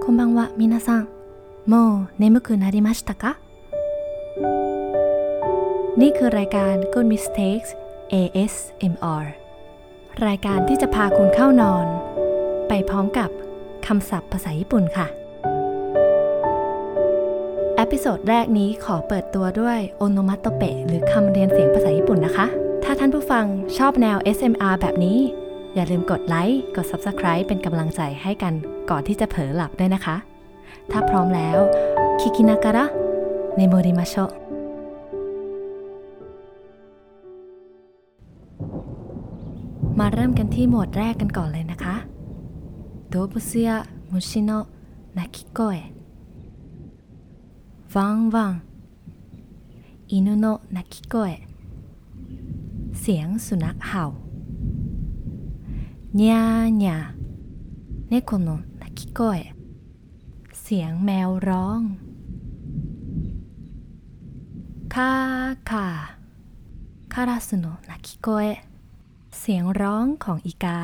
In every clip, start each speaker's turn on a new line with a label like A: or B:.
A: こんばんは皆さんもう眠くなりましたかนี่คือรายการ Good Mistakes ASMR รายการที่จะพาคุณเข้านอนไปพร้อมกับคำศัพท์ภาษาญี่ปุ่นค่ะเอพิโซดแรกนี้ขอเปิดตัวด้วยโอโนมัตโตเปะหรือคำเรียนเสียงภาษาญี่ปุ่นนะคะถ้าท่านผู้ฟังชอบแนว ASMR แบบนี้อย่าลืมกดไลค์กด Subscribe เป็นกำลังใจให้กันก่อนที่จะเผลอหลับด้วยนะคะถ้าพร้อมแล้วคิคินาการะเนโมริมาโชมาเริ่มกันที่หมวดแรกกันก่อนเลยนะคะโดบุสึยะมุชิโนะนาคิโกเอะワンワン犬の鳴き声เสียงสุนัขเห่าにゃーにゃー猫の鳴き声เสียงแมวร้องคาคาカラスの鳴き声เสียงร้องของอีกา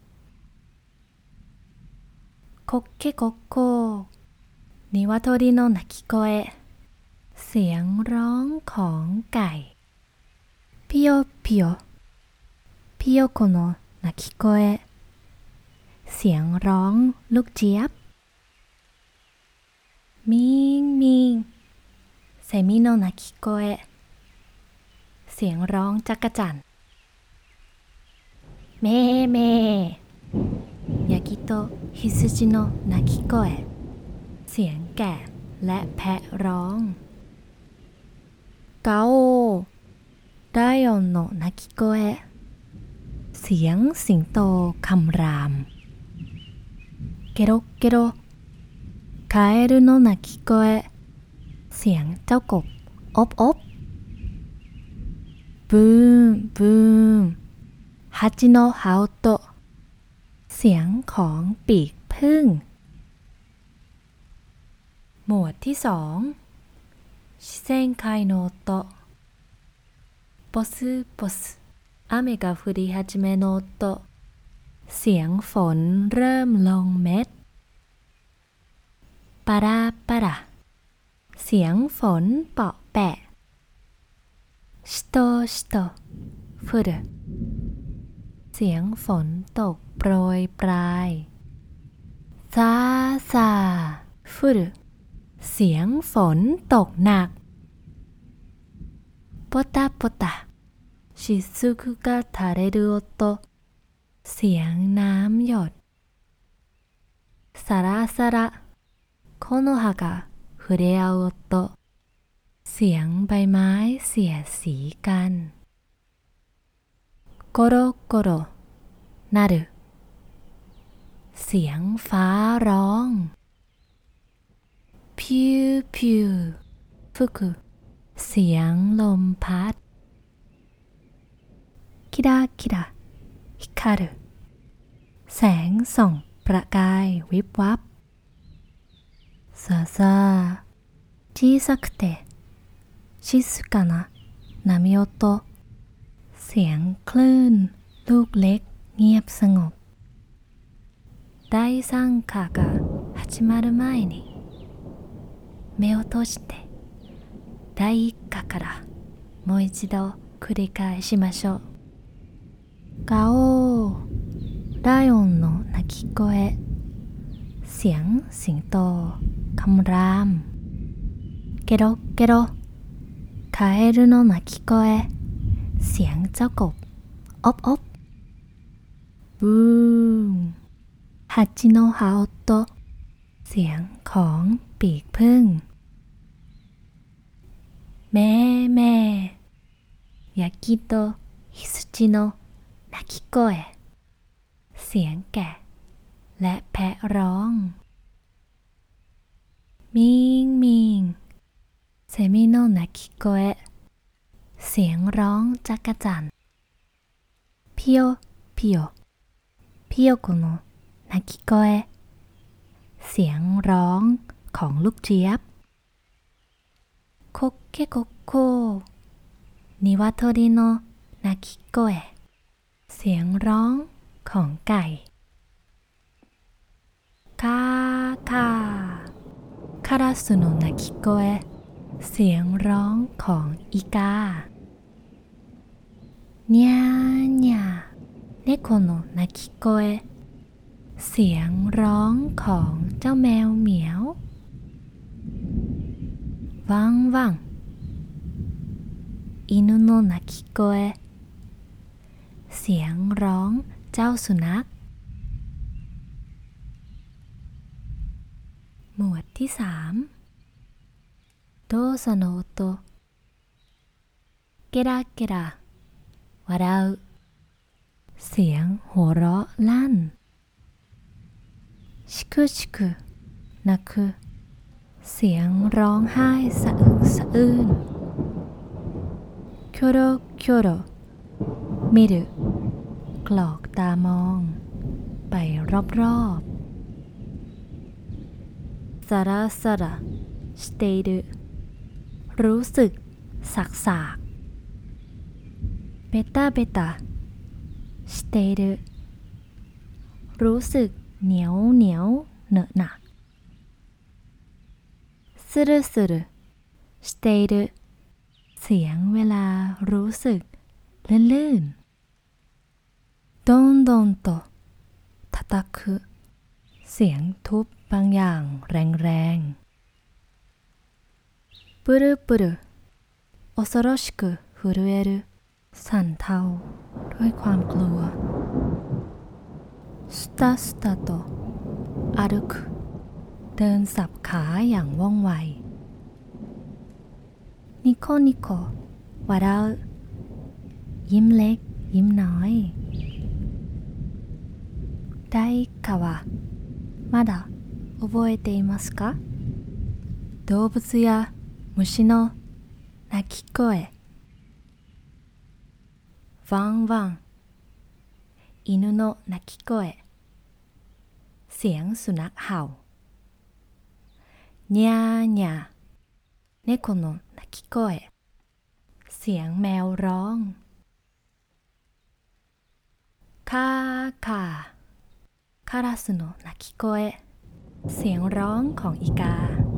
A: コッケコッコーนิวาโทริโนนาคิโกเอะเสียงร้องของไก่ピヨピヨピヨโคโนะนาคิโกเอะเสียงร้องลูกเจี๊ยบมิงมิงเซมิโนนาคิโกเอะเสียงร้องจักจั่นเมเมยากิโตะฮิซุจิโนะนาคิโกเอะเสียงแกะและแพะร้องกาโอไดออนโนะนาคิโกเอะเสียงสิงโตคำรามเกโรเกโรคาเอรุโนะนาคิโกเอะเสียงเจ้ากบอบอบบูมบูมฮัจิโนะฮาโอโตะเสียงของปีกผึ้งหมวดที่2ชิเซนไคโนโตะポスポス雨が降り始めの音เสียงฝนเริ่มลงเม็ดปาราปาราเสียงฝนเปาะแปะชิโตชิโตฟุรุเสียงฝนตกโปรยปลายซาซาฟุรุเสียงฝนตกหนักポタポタ雫が垂れる音เสียงน้ำหยดサラサラ木の葉が触れ合う音เสียงใบไม้เสียดสีกันโกโรโกโรนารุเสียงฟ้าร้องพิวพิวฟุกุเสียงลมพัดคิราคิราฮิคารุแสงส่องประกายวิบวับซาซา小さくて静かな波音เสียงคลื่นลูกเล็กเงียบสงบ第三課が始まる前に目を閉じて第一課からもう一度繰り返しましょうガオーライオンの鳴き声เสียงสิงโตคำรามเกโรเกโรカエルの鳴き声เสียงเจ้ากบอบอบบูมฮัจิโนะฮาโอโตะเสียงของปีกผึ้งแม่แม่ยากิโตะฮิซุจิโนะนาคิโกเอะเสียงแกะและแพะร้องมิงมิงเซมิโนะนาคิโกเอะเสียงร้องจักจั่นพิโยพิโยพิโยโคโนะนาคิโกเอะเสียงร้องของลูกเจี๊ยบโคเกโกโกนิวาโทริโนะนาคิโกเอะเสียงร้องของไก่คาคาカラスの鳴き声เสียงร้องของอีกาにゃーにゃー猫の鳴き声เสียงร้องของเจ้าแมวเหมียวワンワン犬の鳴き声เสียงร้องเจ้าสุนัขหมวดที่3動作の音ゲラゲラ笑うเสียงหัวเราะลั่นชิคุชิคุ泣くเสียงร้องไห้สะอึกสะอื้นキョロキョロ見るกรอกตามองไปรอบๆサラサラしているรู้สึกสักๆベタベタしているรู้สึกเหนียวเหนียวเหนอะหนะスルスルしているเสียงเวลารู้สึกลื่นๆドンドンと叩くเสียงทุบบางอย่างแรงๆブルブル恐ろしく震えるสั่นเทาด้วยความกลัวスタスタと歩くเดินสับขาอย่างว่องไวニコニコ笑うยิ้มเล็กยิ้มน้อย誰かはまだ覚えていますか動物や虫の鳴き声ワンワン犬の鳴き声เสียงสุนัขเห่าにゃーにゃー猫の鳴き声เสียงแมวร้องカーカーカラスの鳴き声เสียงร้องของอีกา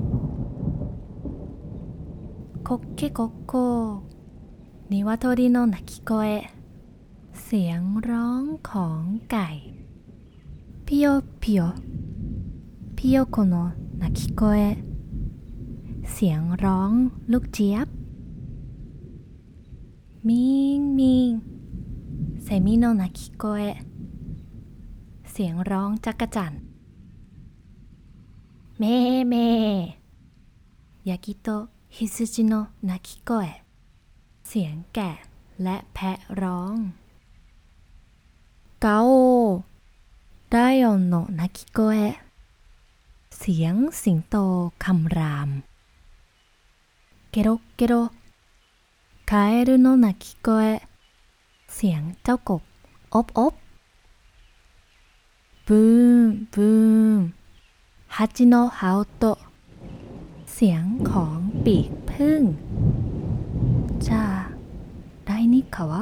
A: コッケコッコー鶏の鳴き声เสียงร้องของไก่ピヨピヨピヨコの鳴き声เสียงร้องลูกเจี๊ยบมิงมิงเซมิโนนาคิโกเอะเสียงร้องจักจั่นเมเมยากิโตะฮิซุจิโนนาคิโกเอะเสียงแกะและแพะร้องกาโอไดออนโนนาคิโกเอะเสียงสิงโตคำรามเกโรเกโรカエルの鳴き声เสียงเจ้ากบอบอบブーンブーンハチの羽音เสียงของปีกผึ้งじゃあ第2課は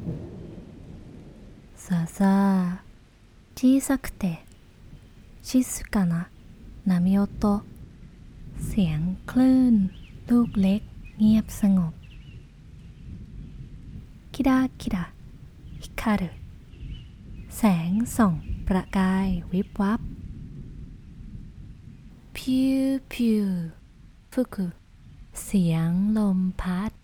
A: さあさあ小さくて静かな波音เสียงคลื่นลูกเล็กเงียบสงบキラキラ光るแสงส่องประกายวิบวับพิวพิวฟุกุเสียงลมพัด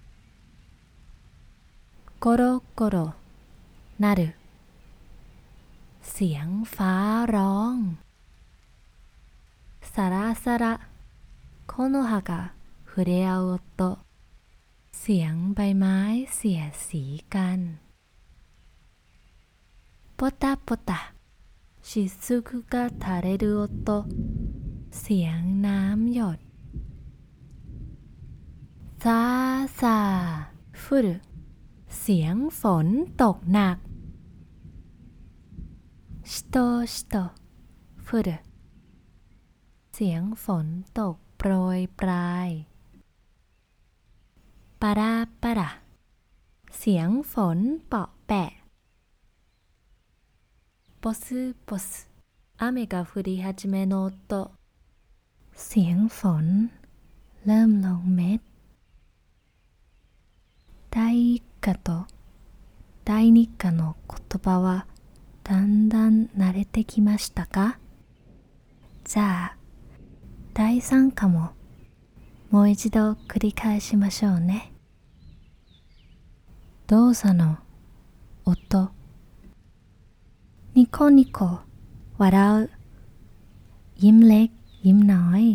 A: โกโรโกโรนารุเสียงฟ้าร้องサラサラ木の葉が触れ合う音เสียงใบไม้เสียดสีกันポタポタ雫が垂れる音เสียงน้ำหยดซาซา降るเสียงฝนตกหนักしとしと降るเสียงฝนตกโปรยปลายปาราปาราเสียงฝนเปาะแปะポスポス雨が降り始めの音เสียงฝนเริ่มลงเม็ด第一課と第二課の言葉はだんだん慣れてきましたか？じゃあ第三課ももう一度繰り返しましょうね。動作の音ニコニコ笑うยิ้มเล็กยิ้มน้อย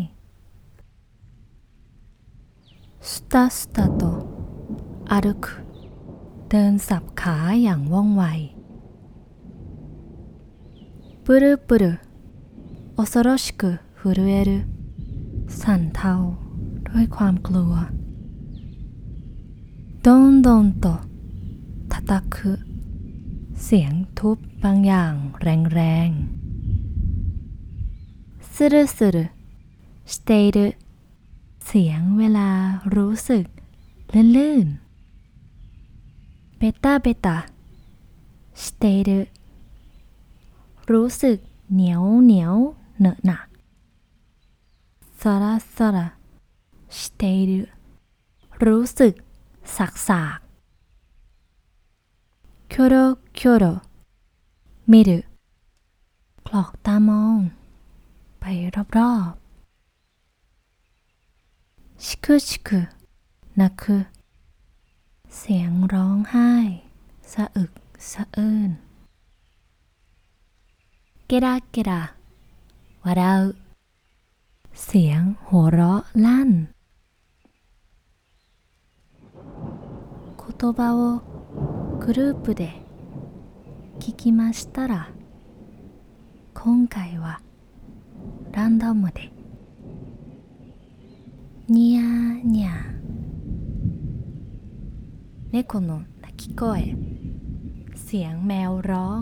A: スタスタと歩くเดินสับขาอย่างว่องไวプルプル恐ろしく震えるสั่นเทาด้วยความกลัวドンドンと叩くเสียงทุบบางอย่างแรงๆスルスルしているเสียงเวลารู้สึกลื่นๆベタベタしているรู้สึกเหนียวเหนียวเหนอะหนะサラサラしているรู้สึกสักキョロキョロ見るกรอกตามองไปรอบๆしくしく泣くเสียงร้องไห้สะอึกสะอื้นゲラゲラ笑うเสียงหัวเราะลั่น言葉をグループで聞きましたら今回はランダムでニャーニャー猫の鳴き声เสียงแมวร้อง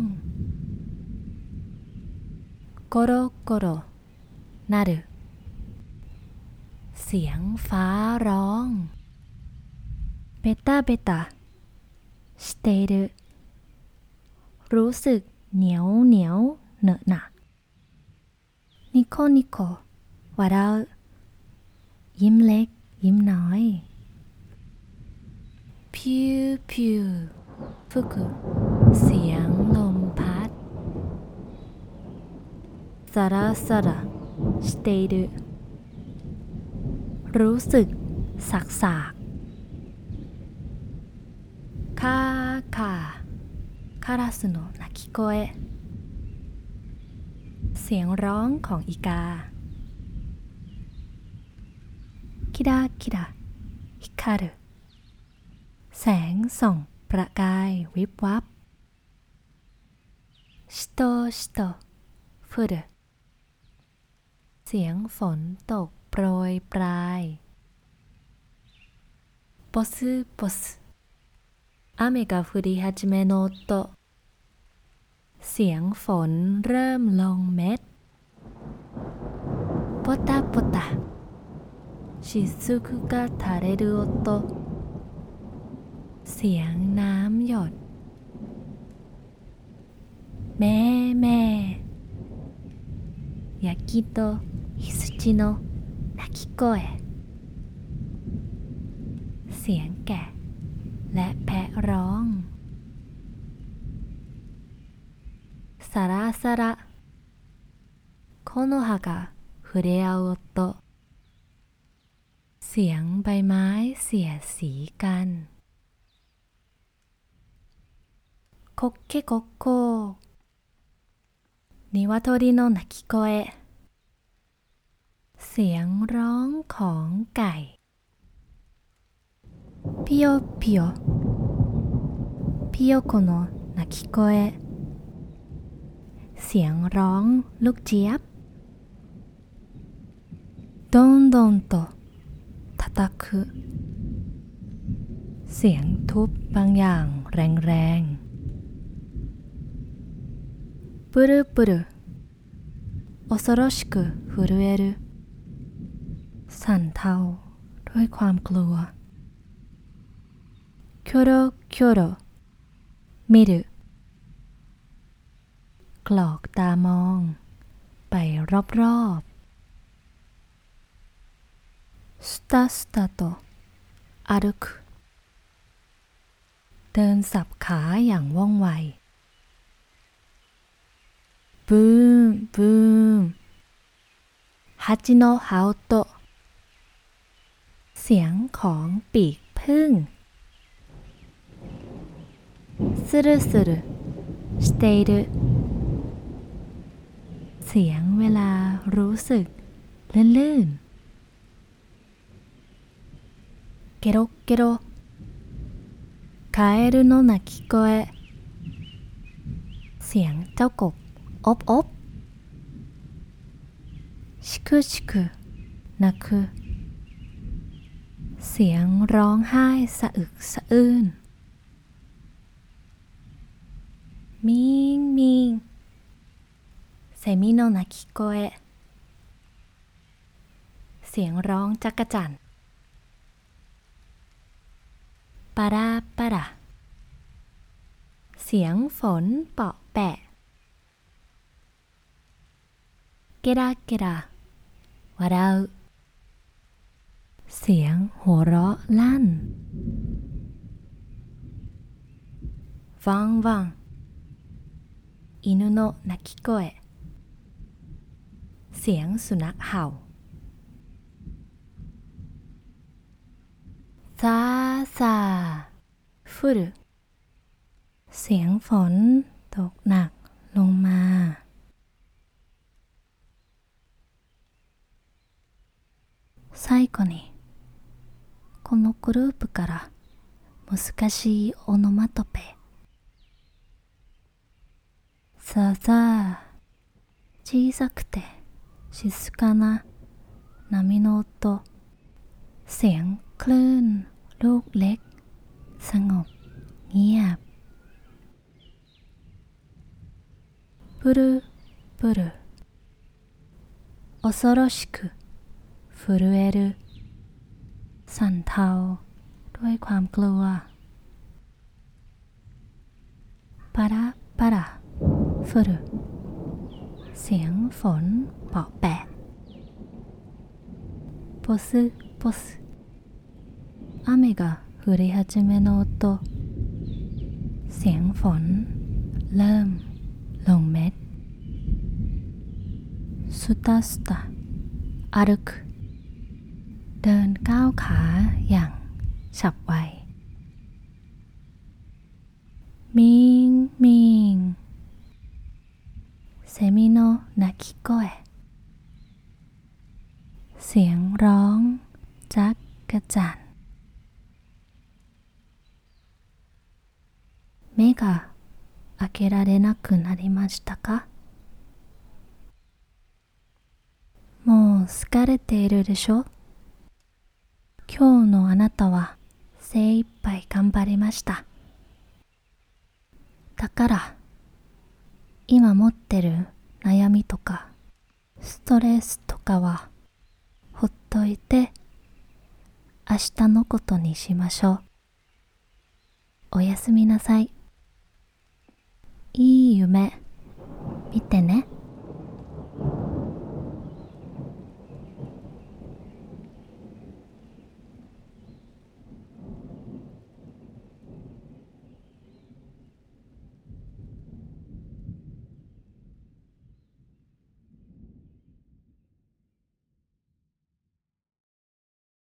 A: ゴロゴロなるเสียงฟ้าร้องベタベタしているรู้สึกเหนียวเหนียวเหนอะหนะニコニコ笑うยิ้มเล็กยิ้มน้อยพิวพิว吹くเสียงลมพัดサラサラしているรู้สึกสักคาคาカラスの鳴き声เสียงร้องของอีกาキラキラ光るแสงส่องประกายวิบวับしとしと降るเสียงฝนตกโปรยปลายボスボス雨が降り始めの音เสียงฝนเริ่มลงเม็ดポタポタ雫が垂れる音เสียงน้ำหยดแม่แม่ヤギと羊の鳴き声เสียงแกะและแพะร้องサラサラ木の葉が触れ合う音เสียงใบไม้เสียดสีกันコッケコッコー鶏の鳴き声เสียงร้องของไก่ピヨピヨピヨコの鳴き声เสียงร้องลูกเจี๊ยบドンドンと叩くเสียงทุบบางอย่างแรงๆプルプル恐ろしく震えるสั่นเทาด้วยความกลัวキョロキョロ見るกรอกตามองไปรอบスタスタと歩くเดินสับขาอย่างว่องไวブーンブーン蜂の羽音เสียงของปีกผึ้งスルスルしているเสียงเวลารู้สึกลื่นๆゲロッゲロカエルの鳴き声เสียงเจ้ากบอบอบしくしく泣くเสียงร้องไห้สะอึกสะอื้นมิงมิงセミの鳴き声เสียงร้องจักจั่นปาราปาราเสียงฝนเปาะแปะเกราเกรา笑うเสียงหัวเราะลั่นワンワン犬の鳴き声เสียงสุนัขเห่าซาซา降るเสียงฝนตกหนักลงมา最後にこのグループから難しいオノマトペさあさあ小さくて静かな波の音เสียงคลื่นลูกเล็กสงบเงียบプルプル恐ろしく震えるสั่นเทาด้วยความกลัวปาราปารา降るเสียงฝนเปาะแปะポスポス雨が降り始めの音เสียงฝนเริ่มลงเม็ดスタスタ歩くเดินก้าวขาอย่างฉับไวมิงมิงセミの鳴き声เสียงร้องจักกะจั่น目が開けられなくなりましたかもう疲れているでしょ今日のあなたは精一杯頑張りましただから今持ってる悩みとかストレスとかはほっといて明日のことにしましょうおやすみなさいいい夢見てね